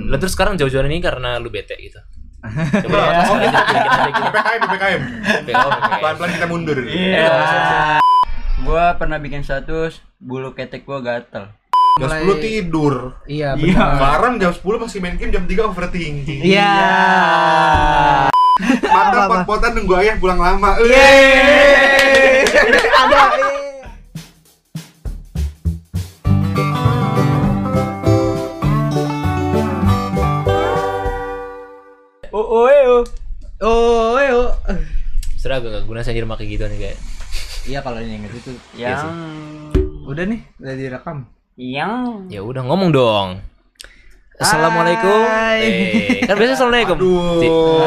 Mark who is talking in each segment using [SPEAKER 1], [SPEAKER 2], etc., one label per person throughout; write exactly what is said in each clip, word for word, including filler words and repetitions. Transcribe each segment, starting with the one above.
[SPEAKER 1] Hmm. Lalu terus sekarang jauh-jauhan ini karena lu bete gitu.
[SPEAKER 2] Coba ya. Oh, B P K M, B P K M. Pelan-pelan kita mundur.
[SPEAKER 3] Iya. Gua pernah bikin status bulu ketek gua gatel.
[SPEAKER 2] Jam sepuluh tidur.
[SPEAKER 4] Iya benar.
[SPEAKER 2] Sekarang jam sepuluh masih main game, jam tiga overthinking.
[SPEAKER 4] Iya.
[SPEAKER 2] Mata pot-potan nunggu ayah pulang lama.
[SPEAKER 4] Yeay. Ada.
[SPEAKER 3] Oh, oh, oh.
[SPEAKER 4] Oh, oh.
[SPEAKER 1] Sudah gak guna saya rumah kayak gitu nih kayak.
[SPEAKER 4] Iya kalau yang itu
[SPEAKER 3] Yang
[SPEAKER 4] udah nih, udah direkam.
[SPEAKER 3] yang
[SPEAKER 1] Ya udah ngomong dong. Assalamualaikum. Eh, kan biasa assalamualaikum.
[SPEAKER 2] Aduh.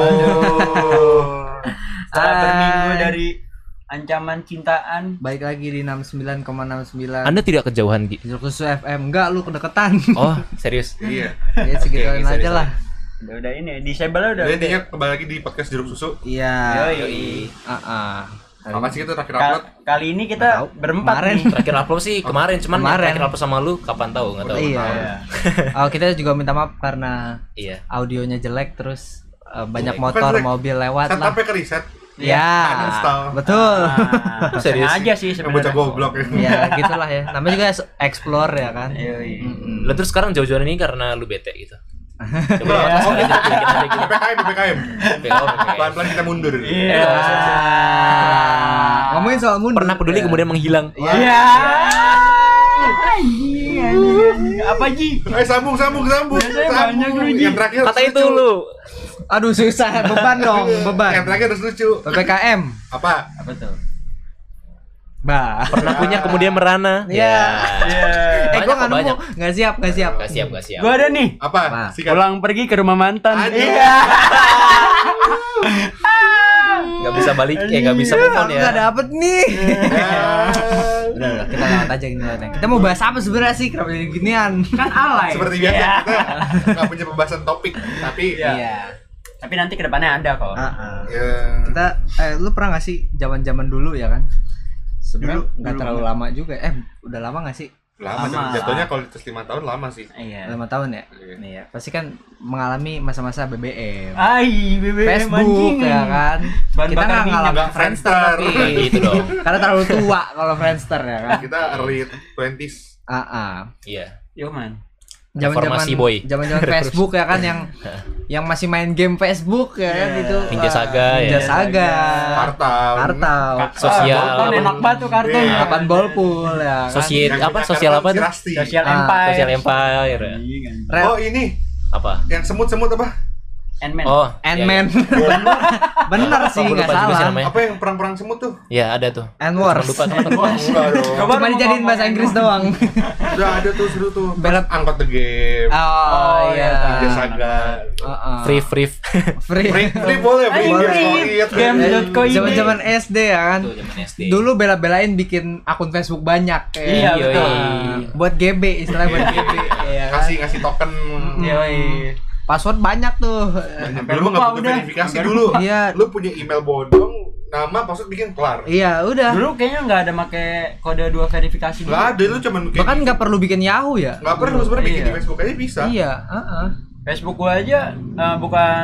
[SPEAKER 3] setelah
[SPEAKER 4] Hai.
[SPEAKER 3] berminggu dari ancaman cintaan.
[SPEAKER 4] Baik lagi di enam puluh sembilan koma enam sembilan.
[SPEAKER 1] Anda tidak kejauhan Gi.
[SPEAKER 4] Khusus F M. Enggak, lu kedeketan.
[SPEAKER 1] Oh, serius?
[SPEAKER 2] Iya.
[SPEAKER 4] Ya segituin
[SPEAKER 1] Oke, sorry,
[SPEAKER 4] aja lah.
[SPEAKER 3] Udah udah ini disable udah.
[SPEAKER 2] Jadi intinya kembali lagi di podcast Jeruk Susu.
[SPEAKER 4] Iya.
[SPEAKER 3] Yoi.
[SPEAKER 4] Heeh.
[SPEAKER 2] Apa sih kita terakhir
[SPEAKER 3] Ka-
[SPEAKER 2] upload?
[SPEAKER 3] kali ini
[SPEAKER 4] Nggak
[SPEAKER 3] kita
[SPEAKER 4] tahu.
[SPEAKER 3] berempat
[SPEAKER 4] Kemarin.
[SPEAKER 3] nih.
[SPEAKER 1] Terakhir upload sih kemarin, cuman yang
[SPEAKER 4] Kemarin.
[SPEAKER 1] terakhir upload sama lu kapan tahu enggak tahu.
[SPEAKER 4] Iya.
[SPEAKER 3] Iya.
[SPEAKER 4] Oh, kita juga minta maaf karena
[SPEAKER 1] Iya.
[SPEAKER 4] audionya jelek terus uh, banyak
[SPEAKER 1] Jelek.
[SPEAKER 4] motor,
[SPEAKER 2] Bukan jelek.
[SPEAKER 4] mobil lewat lah.
[SPEAKER 2] Setupnya ke reset.
[SPEAKER 4] Ya,
[SPEAKER 2] Uninstall.
[SPEAKER 4] betul.
[SPEAKER 3] Nah,
[SPEAKER 1] Serius?
[SPEAKER 3] sengaja sih
[SPEAKER 2] Yang bocah
[SPEAKER 3] sebenarnya.
[SPEAKER 2] goblok ya.
[SPEAKER 4] Ya, gitulah ya. Namanya juga explore ya kan.
[SPEAKER 3] Yoi.
[SPEAKER 4] Mm-mm.
[SPEAKER 1] Lalu terus sekarang jauh-jauhan ini karena lu bete gitu. Coba
[SPEAKER 2] Ya.
[SPEAKER 1] oh, gitu, bikin aja gitu.
[SPEAKER 2] B P K M, B P K M. Pelan-pelan kita mundur.
[SPEAKER 3] Iya.
[SPEAKER 4] Ngomongin soal mundur.
[SPEAKER 1] Pernah peduli
[SPEAKER 4] ya.
[SPEAKER 1] kemudian menghilang.
[SPEAKER 4] Iya.
[SPEAKER 3] Iya. Anjing, anjing. Apa Ji?
[SPEAKER 2] Eh sambung sambung sambung.
[SPEAKER 3] Biasanya banyak lu,
[SPEAKER 2] Sambung.
[SPEAKER 3] Ji.
[SPEAKER 2] Yang terakhir
[SPEAKER 1] Kata
[SPEAKER 2] harus
[SPEAKER 1] itu
[SPEAKER 2] lucu.
[SPEAKER 1] lu.
[SPEAKER 4] Aduh susah, beban dong,
[SPEAKER 2] Yang
[SPEAKER 4] beban.
[SPEAKER 2] terakhir harus lucu.
[SPEAKER 4] P P K M.
[SPEAKER 2] Apa?
[SPEAKER 3] Apa tuh?
[SPEAKER 4] Bah.
[SPEAKER 1] Pernah punya kemudian merana.
[SPEAKER 4] Iya.
[SPEAKER 3] Iya.
[SPEAKER 4] Eh
[SPEAKER 1] Banyak
[SPEAKER 4] gua
[SPEAKER 1] kok,
[SPEAKER 4] enggak
[SPEAKER 1] banyak.
[SPEAKER 4] nemu, enggak siap, enggak siap.
[SPEAKER 1] Gak siap, gak siap.
[SPEAKER 3] Gua ada nih.
[SPEAKER 2] Apa?
[SPEAKER 4] Apa?
[SPEAKER 2] Sikat.
[SPEAKER 3] Pulang pergi ke rumah mantan.
[SPEAKER 2] Aduh.
[SPEAKER 3] Iya.
[SPEAKER 1] Gak bisa balik, eh gak bisa move on ya.
[SPEAKER 4] Enggak dapet nih.
[SPEAKER 2] Ya.
[SPEAKER 4] Udah, udah, kita lewat aja gini aja. Kita mau bahas apa sebenarnya sih? Kenapa jadi ginian?
[SPEAKER 3] Kan alay.
[SPEAKER 2] Seperti biasa
[SPEAKER 3] Iya.
[SPEAKER 2] kita nggak punya pembahasan topik, tapi
[SPEAKER 4] Iya.
[SPEAKER 3] Tapi nanti kedepannya ada kok.
[SPEAKER 4] Heeh.
[SPEAKER 2] ya,
[SPEAKER 4] Kita eh lu pernah gak sih zaman-zaman dulu ya kan? Sebenarnya
[SPEAKER 3] Dulu-
[SPEAKER 4] enggak
[SPEAKER 3] dulu
[SPEAKER 4] terlalu
[SPEAKER 3] enggak.
[SPEAKER 4] lama juga. Eh, udah lama gak sih?
[SPEAKER 2] lama,
[SPEAKER 3] Lama.
[SPEAKER 2] sih. Jatuhnya kalau dites lima tahun lama sih.
[SPEAKER 3] Iya.
[SPEAKER 4] lima tahun ya?
[SPEAKER 2] Iya.
[SPEAKER 4] Nih ya, pasti kan mengalami masa-masa B B M.
[SPEAKER 3] Ai, B B M
[SPEAKER 4] Facebook
[SPEAKER 3] anjing.
[SPEAKER 4] ya kan.
[SPEAKER 3] Bahan
[SPEAKER 4] Kita
[SPEAKER 3] bakar
[SPEAKER 4] nggak
[SPEAKER 3] minyak.
[SPEAKER 4] ngalamin
[SPEAKER 2] Nggak
[SPEAKER 4] Friendster
[SPEAKER 2] Friendster.
[SPEAKER 4] tapi
[SPEAKER 1] Gitu dong.
[SPEAKER 4] karena terlalu tua kalau Friendster ya kan.
[SPEAKER 2] Kita early twenties.
[SPEAKER 4] Ah, ah.
[SPEAKER 1] Iya.
[SPEAKER 3] Yo man.
[SPEAKER 4] Zaman-zaman
[SPEAKER 1] Reformasi, boy.
[SPEAKER 4] zaman-zaman Facebook ya kan yang yang masih main game Facebook ya kan
[SPEAKER 3] Iya.
[SPEAKER 4] itu.
[SPEAKER 1] Ninja
[SPEAKER 4] Ah,
[SPEAKER 1] Saga ya.
[SPEAKER 4] Ninja Saga.
[SPEAKER 2] Kartal.
[SPEAKER 4] Kartal.
[SPEAKER 1] Sosial.
[SPEAKER 3] Ah, kartun enak banget tuh kartun.
[SPEAKER 2] Iya.
[SPEAKER 4] Kapan Bolpool ya kan.
[SPEAKER 1] Sosial
[SPEAKER 2] Yang
[SPEAKER 1] apa?
[SPEAKER 2] punya
[SPEAKER 1] Sosial
[SPEAKER 2] kartal
[SPEAKER 1] apa
[SPEAKER 2] si
[SPEAKER 1] tuh?
[SPEAKER 2] Rasti.
[SPEAKER 3] Sosial
[SPEAKER 4] Ah,
[SPEAKER 3] Empire.
[SPEAKER 1] Sosial Empire.
[SPEAKER 4] Rel-
[SPEAKER 2] Oh ini
[SPEAKER 1] Apa?
[SPEAKER 2] yang semut-semut apa?
[SPEAKER 3] Ant-Man.
[SPEAKER 1] Oh,
[SPEAKER 4] Ant-Man.
[SPEAKER 1] iya, iya.
[SPEAKER 4] Bener
[SPEAKER 1] Apa,
[SPEAKER 4] sih
[SPEAKER 1] gua
[SPEAKER 4] nggak
[SPEAKER 1] lupa juga sih
[SPEAKER 4] salah.
[SPEAKER 1] namanya.
[SPEAKER 2] Apa yang perang-perang semut tuh?
[SPEAKER 1] Ya ada tuh.
[SPEAKER 4] Ant
[SPEAKER 1] Cuma
[SPEAKER 4] Wars.
[SPEAKER 1] lupa kenapa lupa.
[SPEAKER 2] Enggak dong.
[SPEAKER 3] Coba
[SPEAKER 4] Cuma
[SPEAKER 3] lu
[SPEAKER 4] dijadiin
[SPEAKER 3] ngomong
[SPEAKER 4] bahasa Inggris doang.
[SPEAKER 2] Udah ada tuh seru tuh.
[SPEAKER 4] Belok.
[SPEAKER 2] Angkot the game.
[SPEAKER 4] Oh iya.
[SPEAKER 2] Ninja Saga.
[SPEAKER 4] Heeh.
[SPEAKER 1] Free free.
[SPEAKER 4] Free.
[SPEAKER 2] Free, free boleh, free
[SPEAKER 3] Ayo,
[SPEAKER 2] boleh.
[SPEAKER 3] free.
[SPEAKER 2] Solid.
[SPEAKER 3] Game. .co ini.
[SPEAKER 4] Zaman-zaman S D ya kan.
[SPEAKER 1] Tuh zaman S D.
[SPEAKER 4] Dulu bela-belain bikin akun Facebook banyak kayak.
[SPEAKER 3] Iya,
[SPEAKER 1] Yoi.
[SPEAKER 3] betul.
[SPEAKER 4] Buat G B istilahnya buat G B ya kan.
[SPEAKER 2] Kasih ngasih token.
[SPEAKER 3] Yoi.
[SPEAKER 4] Password banyak tuh.
[SPEAKER 3] Sampai
[SPEAKER 2] Dulu
[SPEAKER 3] lupa
[SPEAKER 2] nggak butuh
[SPEAKER 3] udah.
[SPEAKER 2] verifikasi
[SPEAKER 3] Sampai
[SPEAKER 2] dulu.
[SPEAKER 3] lupa.
[SPEAKER 4] Iya.
[SPEAKER 2] Lu punya email bodong, nama password bikin kelar.
[SPEAKER 4] Iya, udah.
[SPEAKER 3] Dulu kayaknya nggak ada make kode dua verifikasi gitu.
[SPEAKER 2] Nggak ada, lu cuman kayak
[SPEAKER 4] Bahkan nggak perlu bikin Yahoo ya.
[SPEAKER 2] nggak perlu sebenarnya bikin
[SPEAKER 3] Iya.
[SPEAKER 2] di Facebook aja bisa.
[SPEAKER 4] Iya, heeh.
[SPEAKER 3] Facebook gua aja eh, bukan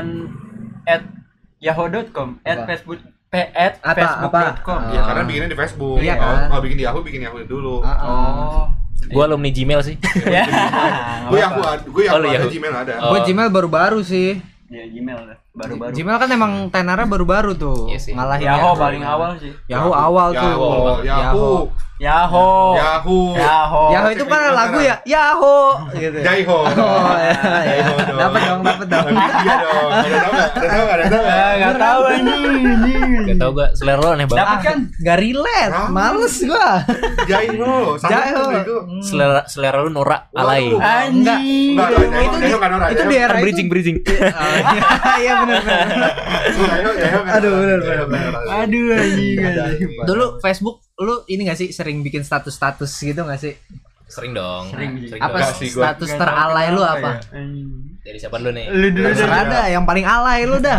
[SPEAKER 3] at yahoo dot com, at
[SPEAKER 4] Apa?
[SPEAKER 3] facebook p at
[SPEAKER 4] Apa,
[SPEAKER 3] facebook dot com.
[SPEAKER 4] apa?
[SPEAKER 2] Ya
[SPEAKER 4] Ah.
[SPEAKER 2] karena bikinnya di Facebook.
[SPEAKER 4] Iya,
[SPEAKER 2] Kalau
[SPEAKER 4] kan?
[SPEAKER 2] kalau bikin di Yahoo, bikin Yahoo dulu.
[SPEAKER 4] Heeh.
[SPEAKER 3] Oh.
[SPEAKER 1] Gua alumni Gmail sih.
[SPEAKER 3] Ya.
[SPEAKER 2] Gue Yahoo, ada- gue
[SPEAKER 1] Oh,
[SPEAKER 2] Yahoo
[SPEAKER 1] lu
[SPEAKER 2] ada,
[SPEAKER 1] Yahoo.
[SPEAKER 2] Gmail ada.
[SPEAKER 1] Oh.
[SPEAKER 4] Gua Gmail baru-baru sih.
[SPEAKER 3] Ya Gmail dah, baru-baru.
[SPEAKER 4] Gmail kan emang tenarnya baru-baru tuh.
[SPEAKER 1] Iya sih.
[SPEAKER 4] Ngalahin
[SPEAKER 3] Yahoo
[SPEAKER 4] Yahoo.
[SPEAKER 3] paling awal sih.
[SPEAKER 4] Yahoo awal tuh.
[SPEAKER 2] Yahoo, Yahoo,
[SPEAKER 3] Yahoo.
[SPEAKER 2] Yahoo,
[SPEAKER 3] Yahoo.
[SPEAKER 4] Yahoo itu kan lagu ya. Yahoo gitu.
[SPEAKER 2] Jaiho.
[SPEAKER 4] Oh, iya, iya.
[SPEAKER 2] Jaiho dong.
[SPEAKER 4] Dapat dong, dapat dong.
[SPEAKER 2] Tapi iya dong. Ada tahu nggak? Ada tahu nggak? Ada tahu nggak?
[SPEAKER 3] Ah, nggak tahu anjing.
[SPEAKER 1] Gak tau gua selera lo aneh banget.
[SPEAKER 3] Dapat kan?
[SPEAKER 4] Gak relate,
[SPEAKER 2] Ah.
[SPEAKER 4] males gua.
[SPEAKER 2] Jaiho, sama
[SPEAKER 4] Jaiho.
[SPEAKER 2] tuh bego.
[SPEAKER 1] Selera selera lu norak alay.
[SPEAKER 2] Waduh.
[SPEAKER 3] Anjing.
[SPEAKER 4] Enggak.
[SPEAKER 2] Enggak,
[SPEAKER 4] Itu-
[SPEAKER 2] Jaiho,
[SPEAKER 4] itu
[SPEAKER 2] Jaiho
[SPEAKER 4] di-
[SPEAKER 2] nggak norak.
[SPEAKER 4] itu
[SPEAKER 2] Jaiho-
[SPEAKER 4] di era
[SPEAKER 1] Kan
[SPEAKER 4] itu.
[SPEAKER 1] bridging bridging.
[SPEAKER 4] Iya benar benar.
[SPEAKER 2] Jaiho, Jaiho nggak
[SPEAKER 4] Aduh,
[SPEAKER 2] norak.
[SPEAKER 4] bener,
[SPEAKER 2] Jaiho
[SPEAKER 4] bener,
[SPEAKER 2] nggak norak.
[SPEAKER 3] Aduh anjing. anjing.
[SPEAKER 4] Dulu Facebook lu ini gak sih sering bikin status-status gitu gak sih?
[SPEAKER 1] Sering dong.
[SPEAKER 3] Sering,
[SPEAKER 1] Sering
[SPEAKER 4] Apa
[SPEAKER 1] dong.
[SPEAKER 2] Enggak sih, gua.
[SPEAKER 4] status
[SPEAKER 3] Nggak
[SPEAKER 4] teralay
[SPEAKER 3] tahu
[SPEAKER 4] lu
[SPEAKER 3] kenapa
[SPEAKER 4] apa?
[SPEAKER 3] ya. Anjing.
[SPEAKER 1] Dari siapa dulu nih?
[SPEAKER 3] Lu dulu dah.
[SPEAKER 4] Terserah dah, yang paling alay lu dah.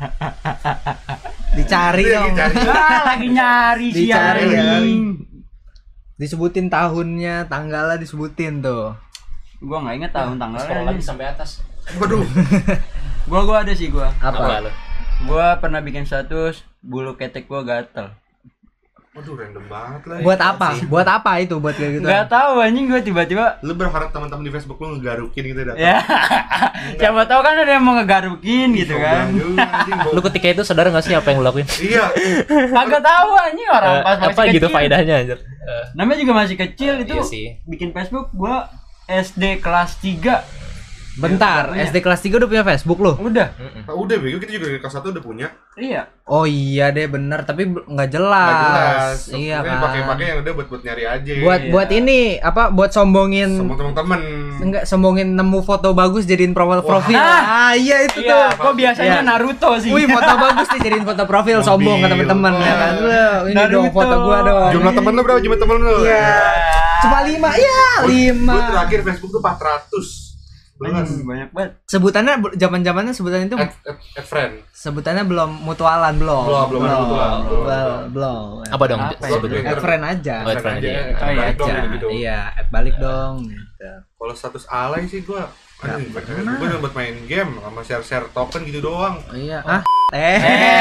[SPEAKER 4] Dicari
[SPEAKER 2] Itu
[SPEAKER 4] dong.
[SPEAKER 2] yang dicari.
[SPEAKER 3] Ah, lagi nyari sih
[SPEAKER 4] Dicari ya.
[SPEAKER 3] anjing.
[SPEAKER 4] Disebutin tahunnya, tanggalnya disebutin tuh.
[SPEAKER 3] Gua enggak ingat tahun tanggalnya.
[SPEAKER 1] Scroll lagi sampai atas.
[SPEAKER 2] Waduh.
[SPEAKER 3] Gua gua ada sih gua.
[SPEAKER 1] Apa lo?
[SPEAKER 3] Gua pernah bikin status bulu ketek gua gatel.
[SPEAKER 2] Waduh, random banget lah.
[SPEAKER 4] Buat apa? Buat apa itu? Buat kayak gitu?
[SPEAKER 3] Gak tahu anjing gua tiba-tiba.
[SPEAKER 2] Lu berharap teman-teman di Facebook lu ngegarukin gitu datang.
[SPEAKER 3] Ya. Siapa tahu kan ada yang mau ngegarukin gitu kan.
[SPEAKER 1] Lu ketika itu sadar nggak sih apa yang lu lakuin?
[SPEAKER 2] Iya.
[SPEAKER 3] Kagak tahu anjing orang
[SPEAKER 1] Eh,
[SPEAKER 3] pas masih
[SPEAKER 1] apa
[SPEAKER 3] kecil.
[SPEAKER 1] gitu faedahnya anjir? Eh,
[SPEAKER 3] Namanya juga masih kecil itu.
[SPEAKER 1] iya sih.
[SPEAKER 3] Bikin Facebook gua S D kelas tiga.
[SPEAKER 4] Bentar,
[SPEAKER 3] Iya.
[SPEAKER 4] S D kelas tiga udah punya Facebook lo?
[SPEAKER 3] Udah.
[SPEAKER 2] Nah, udah bego kita juga dari kelas satu udah punya.
[SPEAKER 3] Iya.
[SPEAKER 4] Oh iya deh bener, tapi bel- nggak jelas.
[SPEAKER 2] Nggak jelas.
[SPEAKER 4] Iya
[SPEAKER 2] Pokoknya
[SPEAKER 4] kan.
[SPEAKER 2] pakai-pakai yang udah buat buat nyari aja.
[SPEAKER 4] Buat
[SPEAKER 3] Iya.
[SPEAKER 4] buat ini apa? Buat sombongin.
[SPEAKER 2] sama teman-teman.
[SPEAKER 4] Enggak sombongin nemu foto bagus jadiin profil
[SPEAKER 2] Wah.
[SPEAKER 4] profil.
[SPEAKER 3] Ah.
[SPEAKER 4] Ah iya itu
[SPEAKER 3] Iya,
[SPEAKER 4] tuh.
[SPEAKER 3] gua biasanya
[SPEAKER 4] Iya.
[SPEAKER 3] Naruto sih.
[SPEAKER 4] Wih foto bagus nih jadiin foto profil
[SPEAKER 2] Mobil.
[SPEAKER 4] sombong ke teman-teman ya kan. Wah, ini dong
[SPEAKER 3] Naruto.
[SPEAKER 4] foto gua dong.
[SPEAKER 2] Jumlah temen lu berapa? Jumlah temen lu?
[SPEAKER 4] Iya. Cuma lima ya
[SPEAKER 2] Gua-
[SPEAKER 4] lima.
[SPEAKER 2] Gua terakhir Facebook tuh empat ratus. Belas.
[SPEAKER 3] Anjing, banyak banget.
[SPEAKER 4] Sebutannya zaman-zamannya sebutan itu
[SPEAKER 2] Add, add, add friend.
[SPEAKER 4] sebutannya belum mutualan belum.
[SPEAKER 2] Belum, belum ada mutual.
[SPEAKER 4] Belum, belum.
[SPEAKER 1] Apa dong?
[SPEAKER 3] Apa ya?
[SPEAKER 1] sebetulnya?
[SPEAKER 4] Add friend aja.
[SPEAKER 1] Oh, add friend aja.
[SPEAKER 2] Add
[SPEAKER 3] Oh, iya,
[SPEAKER 2] balik dong,
[SPEAKER 4] Aja.
[SPEAKER 2] gitu.
[SPEAKER 4] Iya, add balik dong gitu.
[SPEAKER 2] Kalau status alay sih gua anjing, gua cuma buat main game sama share-share token gitu doang.
[SPEAKER 4] Oh, iya. Ah, eh.